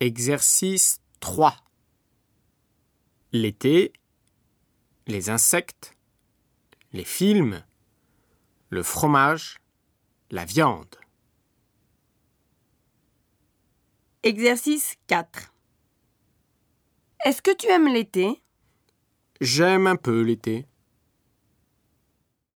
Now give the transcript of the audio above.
Exercice 3. L'été, les insectes, les films, le fromage, la viande. Exercice 4. Est-ce que tu aimes l'été ? J'aime un peu l'été.